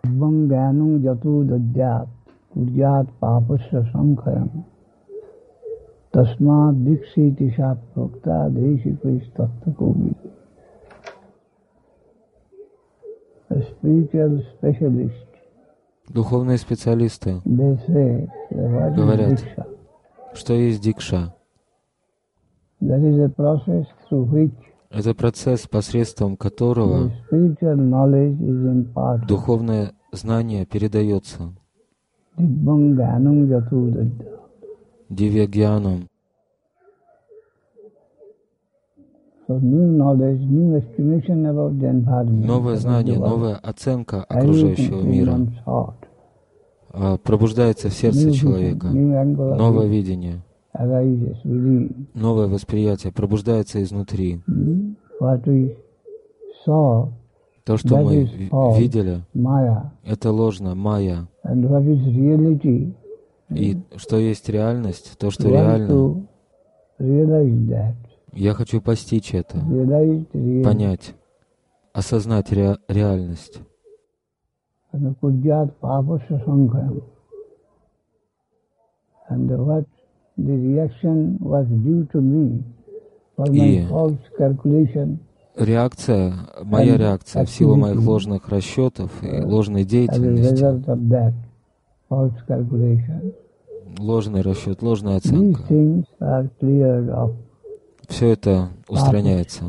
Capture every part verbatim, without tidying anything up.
Bangyanung jatu dadyat kuryat papasya sankhayam tasma dikshiti shapprokta deshikristatta kovi. A spiritual specialist, духовные специалисты they say, what is говорят, diksha? что есть дикша. That is a process through which Это процесс, посредством которого the spiritual knowledge is imparted. духовное знание передается Dibbangyanung jatu dadyat. дивья-гьяном. So new knowledge, new estimation about the environment. Новое знание, новая оценка окружающего мира а, пробуждается в сердце человека. Новое видение, новое восприятие пробуждается изнутри. То, что мы видели, это ложно, майя. И что есть реальность, то, что реально, я хочу постичь это, понять, осознать ре- реальность. И реакция, моя реакция в силу моих ложных расчетов и ложной деятельности, ложный расчет, ложная оценка, все это устраняется.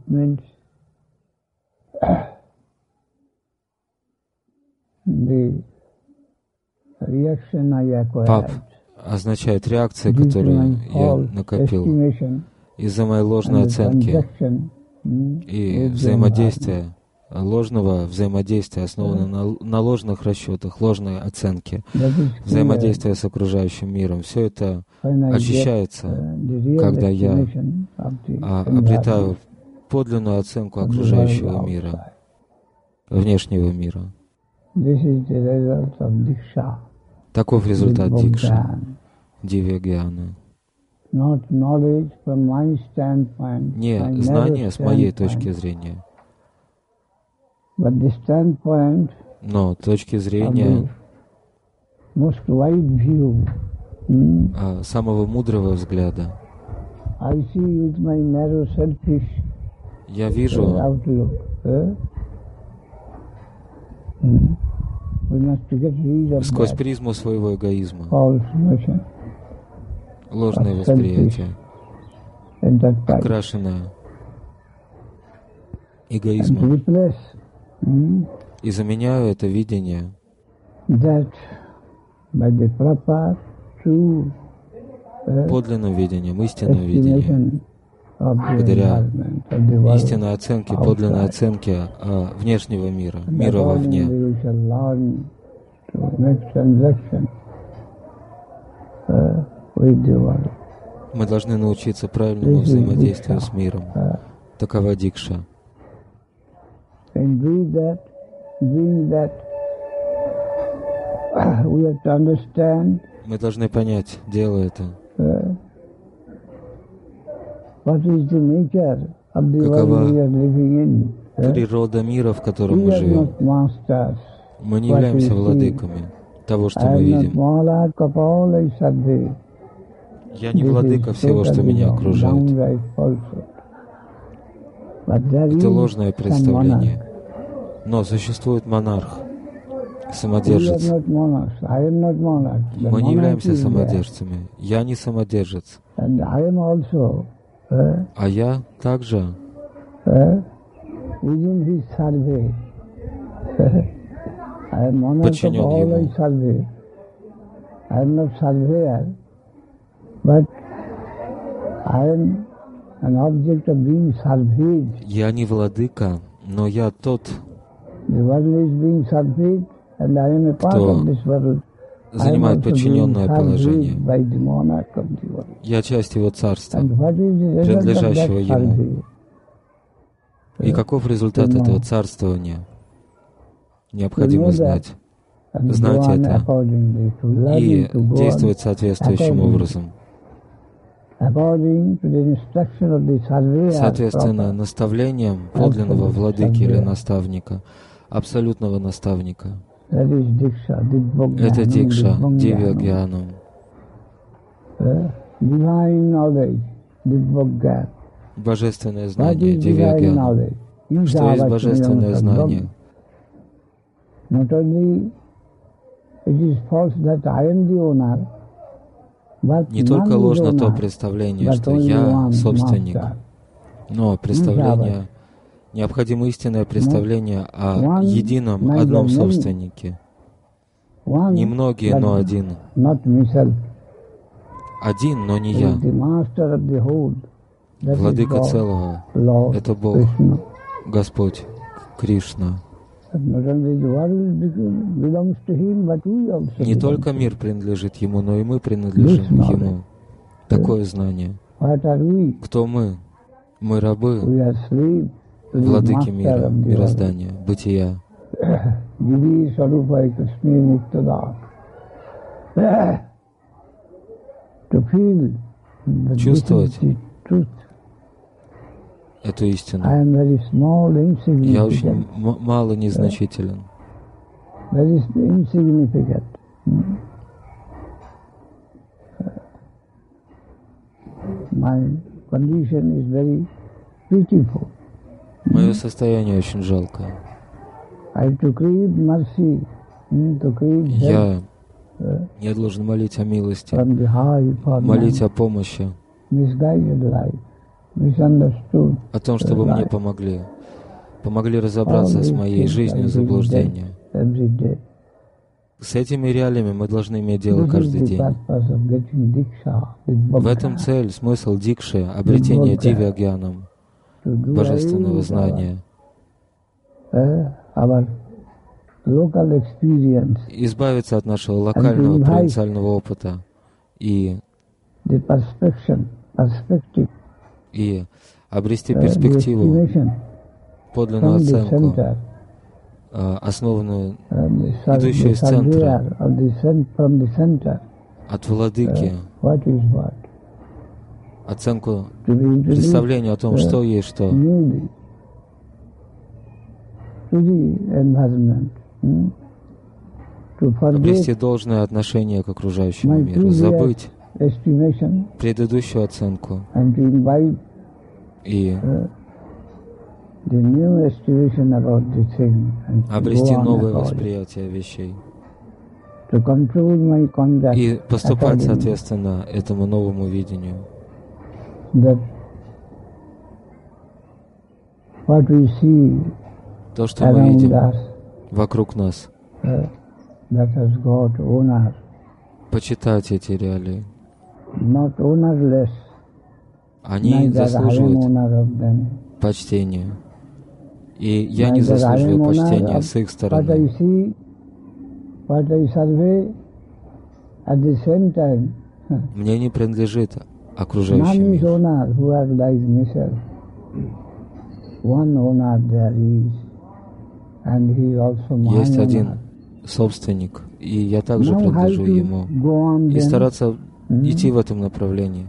Пап означает реакция, которую я накопил из-за моей ложной оценки и взаимодействия, ложного взаимодействия, основанного на, на ложных расчетах, ложной оценке, взаимодействия с окружающим миром. Все это очищается, когда я а, обретаю подлинную оценку окружающего мира, внешнего мира. Таков результат дикши, дивья-гьяна. Не знание с моей точки зрения, но точки зрения а, самого мудрого взгляда. Я вижу сквозь призму своего эгоизма, ложное восприятие, окрашенное эгоизмом, и заменяю это видение подлинным видением, истинным видением, благодаря истинной оценке, подлинной оценке а, внешнего мира, мира вовне. Мы должны научиться правильному взаимодействию с миром. Такова дикша. Мы должны понять, делая это, какова природа мира, в котором мы живем. Мы не являемся владыками того, что мы видим. Я не владыка всего, что меня окружает. Это ложное представление. Но существует монарх, самодержец. Мы не являемся самодержцами. Я не самодержец. А я также подчинен ему. Я не владыка, но я тот, кто занимает подчиненное положение. Я часть его царства, принадлежащего ему. И каков результат этого царствования? Необходимо знать. Знать это и действовать соответствующим образом. Соответственно, наставлением подлинного владыки или наставника, абсолютного наставника, Это дикша, дивья-гьянам. Божественное знание, дивья-гьянам. Что есть божественное знание? Не только ложно то представление, что я собственник, но представление, необходимо истинное представление о едином, одном собственнике. Не многие, но один. Один, но не я. Владыка целого — это Бог, Господь, Кришна. Не только мир принадлежит Ему, но и мы принадлежим Ему. Такое знание. Кто мы? Мы рабы Владыки мира, мироздания, бытия. Чувствовать эту истину. Я очень мало незначителен. Мое состояние очень жалкое. Я, я должен молить о милости, молить о помощи, о том, чтобы мне помогли, помогли разобраться с моей жизнью заблуждения. С этими реалиями мы должны иметь дело каждый день. В этом цель, смысл дикши, обретение дивья-гьянам, божественного знания. Избавиться от нашего локального провинциального опыта и, и обрести перспективу, подлинную оценку, основанную, идущую из центра, от владыки, оценку, представление о том, что есть что. Обрести должное отношение к окружающему миру, забыть предыдущую оценку и обрести новое восприятие вещей и поступать соответственно этому новому видению. То, что мы видим вокруг нас, почитать эти реалии. Они заслуживают почтения. И я не заслуживаю почтения с их стороны. Мне не принадлежит окружающий мир. Есть один собственник, и я также принадлежу ему. И стараться идти в этом направлении.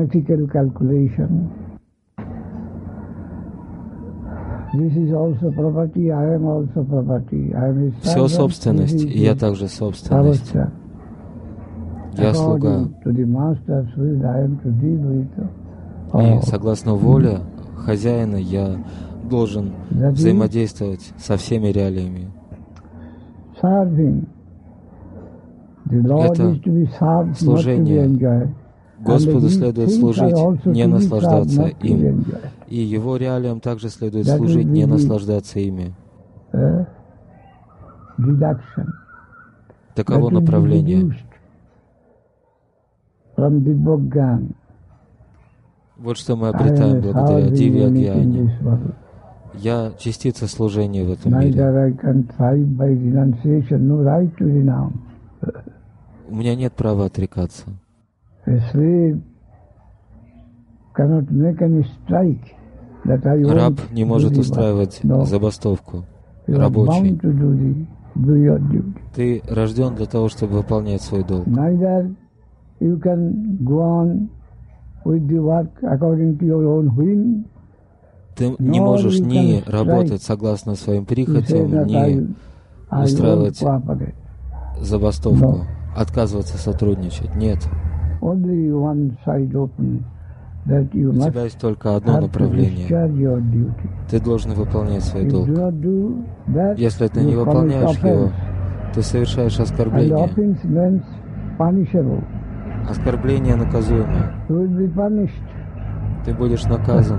Все собственность, и я также собственность. Я слуга. И согласно воле хозяина я должен взаимодействовать со всеми реалиями. Это служение. Господу следует служить, не наслаждаться им. И Его реалиям также следует служить, не наслаждаться ими. Таково направление. Вот что мы обретаем благодаря дивья-гьяне. Я частица служения в этом мире. У меня нет права отрекаться. Раб не может устраивать забастовку. Рабочий. Ты рожден для того, чтобы выполнять свой долг. Ты не можешь ни работать согласно своим прихотям, ни устраивать забастовку, отказываться сотрудничать. Нет. У тебя есть только одно направление. Ты должен выполнять свой долг. Если ты не выполняешь его, ты совершаешь оскорбление. Оскорбление наказуемо. Ты будешь наказан.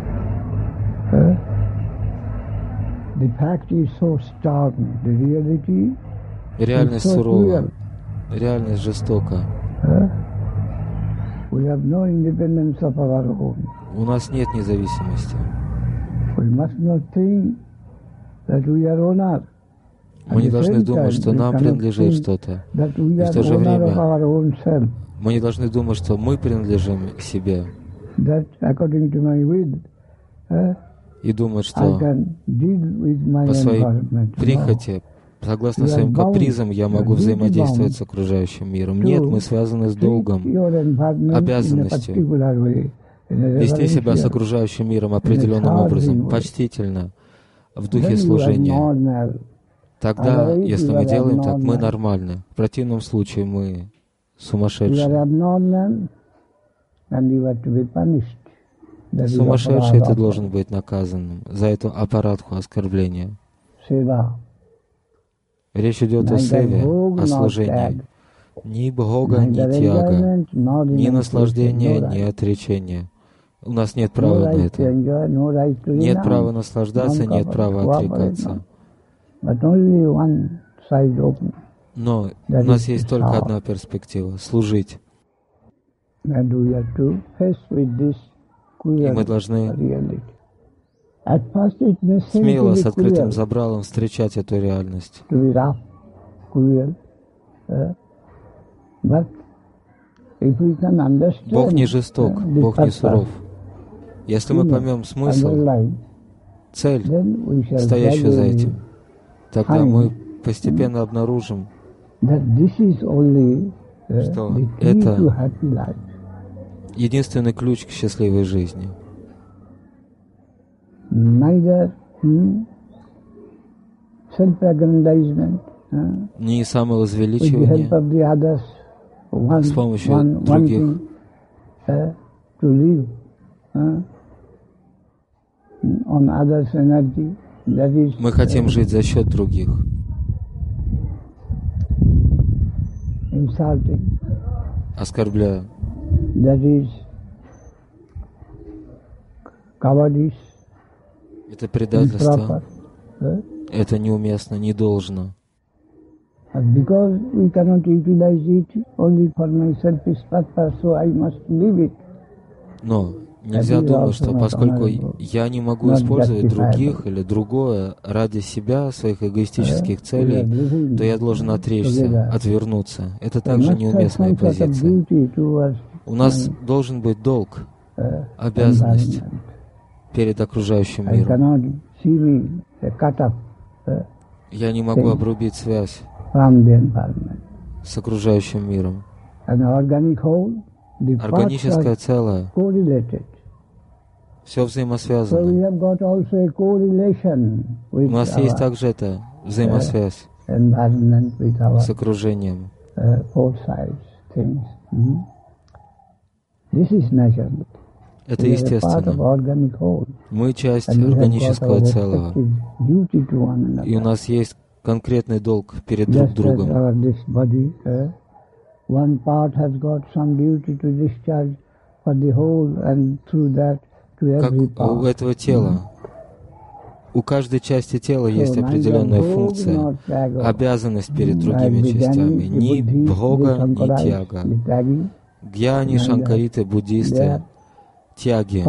Реальность сурова. Реальность жестока. У нас нет независимости. Мы не должны думать, что нам принадлежит что-то. И в то же время мы не должны думать, что мы принадлежим себе. И думать, что по своей прихоти, согласно своим капризам, я могу взаимодействовать с окружающим миром. Нет, мы связаны с долгом, обязанностью вести себя с окружающим миром определенным образом, почтительно, в духе служения. Тогда, если мы делаем так, мы нормальны. В противном случае мы сумасшедшие. Сумасшедший, ты должен быть наказанным за эту аппаратху оскорбления. Речь идет о севе, о служении. Ни бхога, ни тьяга, ни наслаждения, ни отречения. У нас нет права на это. Нет права наслаждаться, нет права отрекаться. Но у нас есть только одна перспектива — служить. И мы должны смело, с открытым забралом встречать эту реальность. Бог не жесток, Бог не суров. Если мы поймем смысл, цель, стоящую за этим, тогда мы постепенно обнаружим, что это единственный ключ к счастливой жизни. Не самовозвеличивание с помощью других. Мы хотим жить за счет других. Оскорбляя. Это предательство. Это неуместно, не должно. Но нельзя думать, что поскольку я не могу использовать других или другое ради себя, своих эгоистических целей, то я должен отречься, отвернуться. Это также неуместная позиция. У нас должен быть долг, обязанность перед окружающим миром. Я не могу обрубить связь с окружающим миром. Органическое целое. Все взаимосвязано. У нас есть также эта взаимосвязь с окружением. Это естественно. Мы часть органического целого. И у нас есть конкретный долг перед друг другом. Как у этого тела. У каждой части тела есть определенная функция, обязанность перед другими частями. Ни бхога, ни тяга. Гьяни, шанкариты, буддисты, тяги.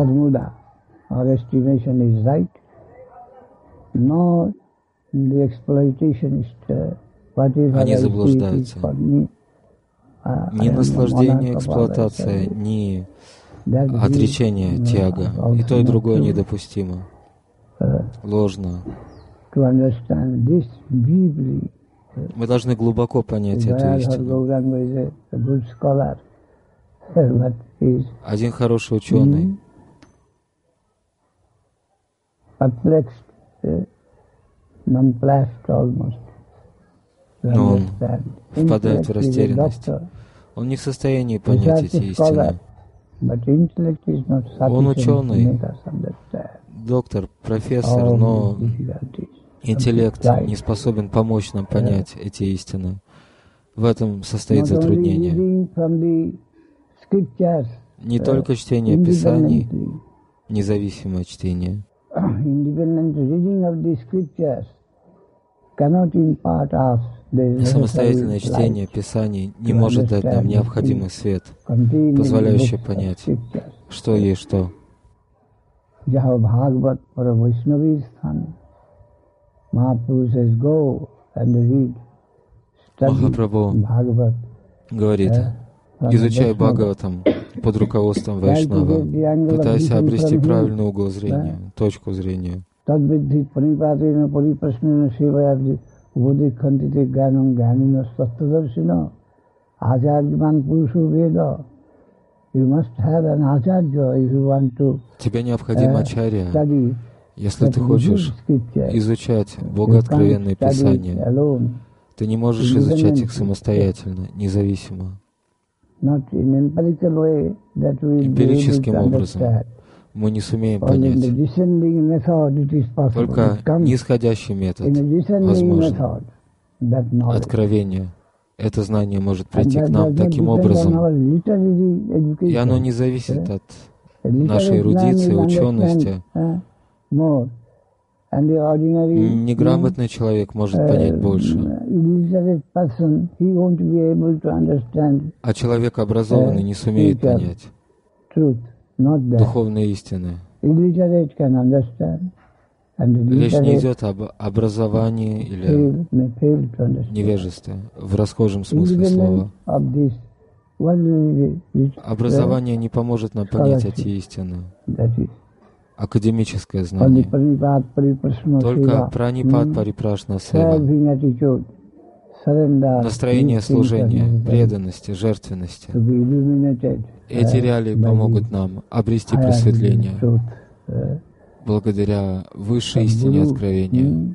Они заблуждаются. Ни наслаждение, эксплуатация, ни отречение, тяга. И то, и другое недопустимо. Ложно. Мы должны глубоко понять эту истину. Один хороший ученый но он впадает в растерянность. Он не в состоянии понять эти истины. Он ученый, доктор, профессор, но интеллект не способен помочь нам понять эти истины. В этом состоит затруднение. Не только чтение Писаний, независимое чтение. Самостоятельное чтение Писаний не может дать нам необходимый свет, позволяющий понять, что есть что. Махапрабху говорит: изучай Бхагаватам под руководством Вайшнава, пытайся обрести правильный угол зрения, точку зрения. Тебе необходим ачарья, если ты хочешь изучать богооткровенные Писания. Ты не можешь изучать их самостоятельно, независимо. Эмпирическим образом мы не сумеем понять. Только нисходящий метод возможен. Откровение. Это знание может прийти к нам таким образом. И оно не зависит от нашей эрудиции, учености. Неграмотный человек может понять больше. А человек образованный не сумеет понять духовные истины. Речь не идет об образовании или невежестве в расхожем смысле слова. Образование не поможет нам понять эти истины. Академическое знание. Только пранипад парипрашна сева. Настроение служения, преданности, жертвенности. Эти реалии помогут нам обрести просветление благодаря высшей истине откровения.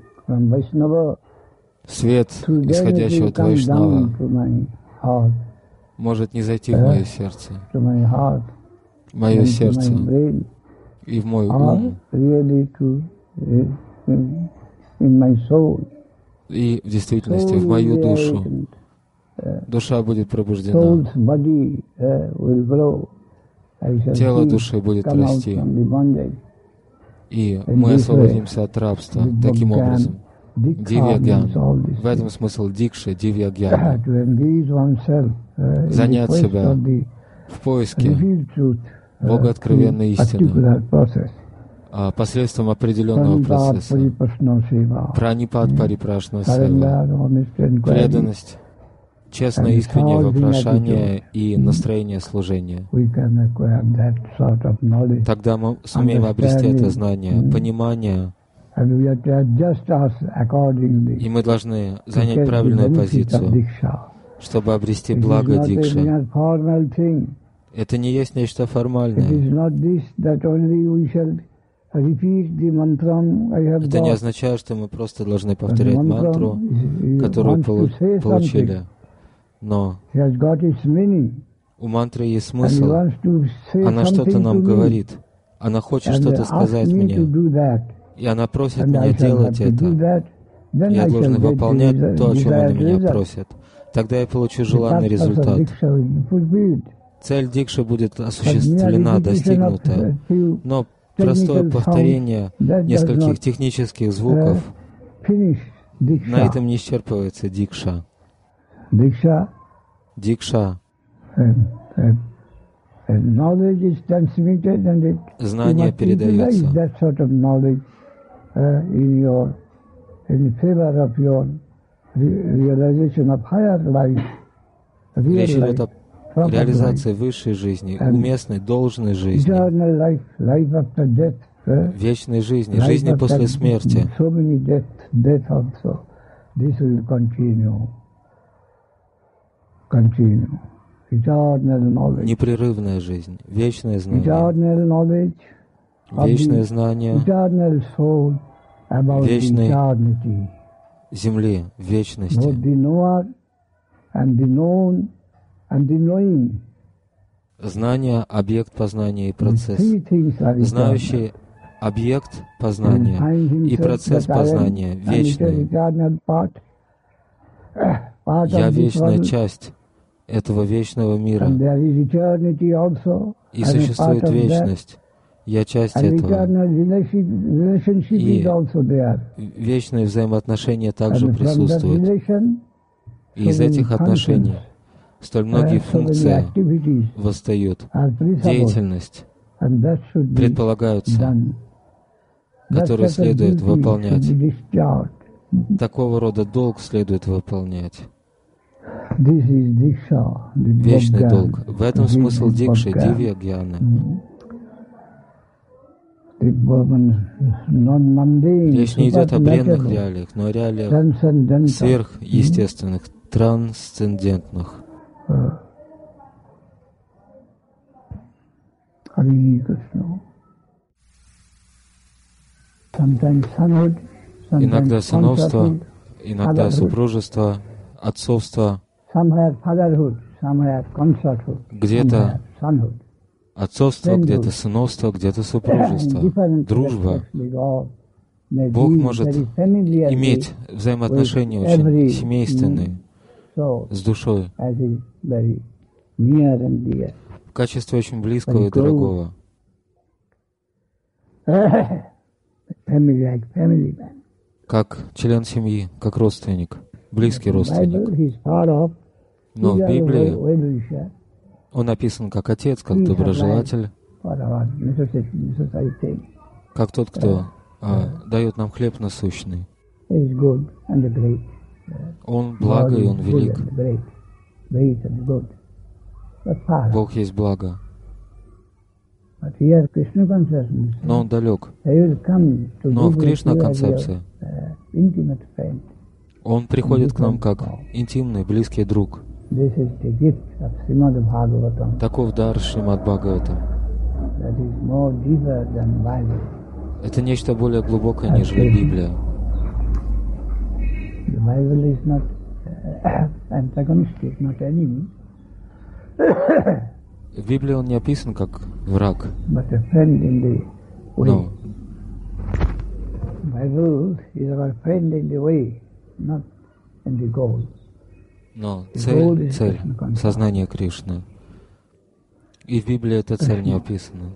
Свет, исходящий от Вайшнава, может не зайти в мое сердце. Мое сердце и в мой ум. И в действительности в мою душу. Душа будет пробуждена. Тело души будет расти. И мы освободимся от рабства таким образом. Дивья-гьян. В этом смысл дикши, дивья-гьяна. Занять себя в поиске богооткровенной истины посредством определенного процесса. Пранипад парипрашна сева. Преданность, честное искреннее вопрошание и настроение служения. Тогда мы сумеем обрести это знание, понимание, и мы должны занять правильную позицию, чтобы обрести благо дикши. Это не есть нечто формальное. Это не означает, что мы просто должны повторять мантру, которую полу- получили. Но у мантры есть смысл. Она что-то нам говорит. Она хочет что-то сказать мне. И она просит меня делать это. Я должен выполнять то, о чем она меня просит. Тогда я получу желанный результат. Цель дикши будет осуществлена, достигнута. Но простое повторение нескольких технических звуков, на этом не исчерпывается дикша. Дикша. Знание передается. Речь идет о реализации высшей жизни, уместной, должной жизни, вечной жизни, жизни после смерти. Непрерывная жизнь, вечное знание, вечное знание, вечный Земли в вечности. Знание, объект познания и процесс. Знающий объект познания и процесс познания вечный. Я вечная часть этого вечного мира. И существует вечность. Я часть этого. И вечные взаимоотношения также присутствуют. И из этих отношений столь многие функции восстают. Деятельность предполагаются, которую следует выполнять. Такого рода долг следует выполнять. Вечный долг. В этом смысл дикши, дивья гьяны. Речь не идет о бренных реалиях, но о реалиях сверхъестественных, трансцендентных. Иногда сыновство, иногда супружество, отцовство, где-то отцовство, где-то сыновство, где-то супружество, дружба. Бог может иметь взаимоотношения очень семейственные с душой в качестве очень близкого и дорогого. Как член семьи, как родственник, близкий родственник. Но в Библии он описан как отец, как доброжелатель, как тот, кто а, дает нам хлеб насущный. Он благо и Он велик. Бог есть благо. Но Он далек. Но в Кришна-концепции Он приходит к нам как интимный, близкий друг. Таков дар Шримад Бхагаватам. Это нечто более глубокое, нежели Библия. В Библии он не описан как враг, но Но цель, цель, сознание Кришны. И в Библии эта цель не описана.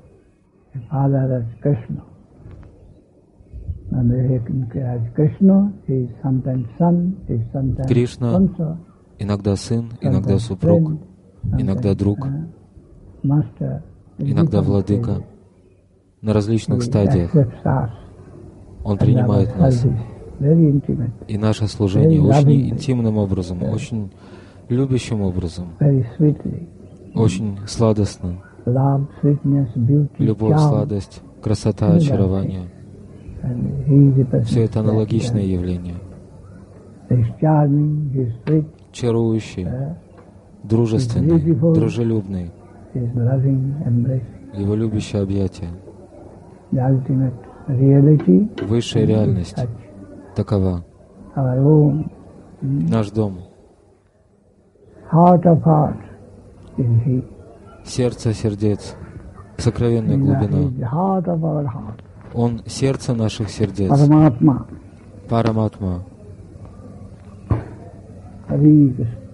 Кришна иногда сын, иногда супруг, иногда друг, иногда владыка. На различных стадиях Он принимает нас. И наше служение очень интимным образом, очень любящим образом, очень сладостно. Любовь, сладость, красота, очарование. Все это аналогичное явление. Чарующий, дружественный, дружелюбный. Его любящее объятие. Высшая реальность. Такова. Наш дом. Сердце сердец. Сокровенная глубина. Он сердце наших сердец. Параматма.